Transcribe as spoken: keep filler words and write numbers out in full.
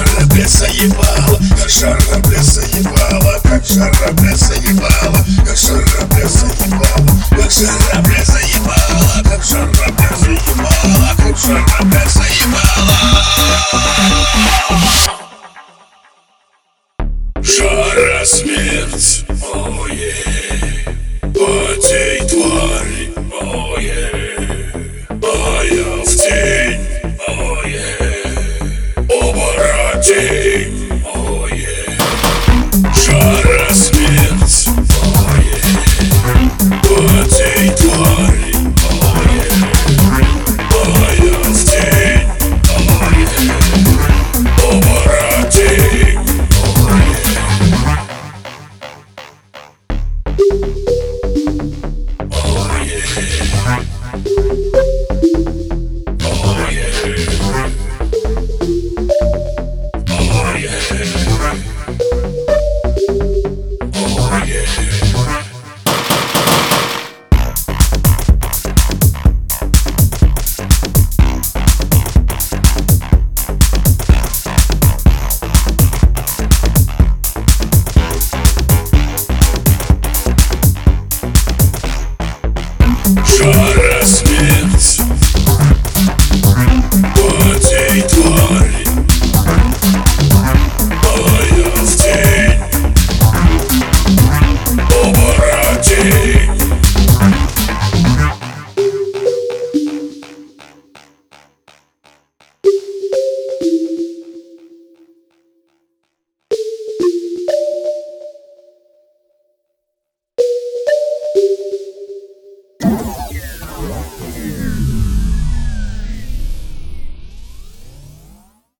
жара, бля, заебала, как жара, бля, заебала, как жара, бля, заебала, как жара, бля, заебала, как жара, бля, заебала, как жара, бля, заебала, как жара, бля, заебала. Жара, смерть, ое, потей, твари, ое, а я в тень, ое, оборотень, ое, жара, смерть, ое, потей, твари, ое, а я в тень, ое, оборотень. Oh yeah.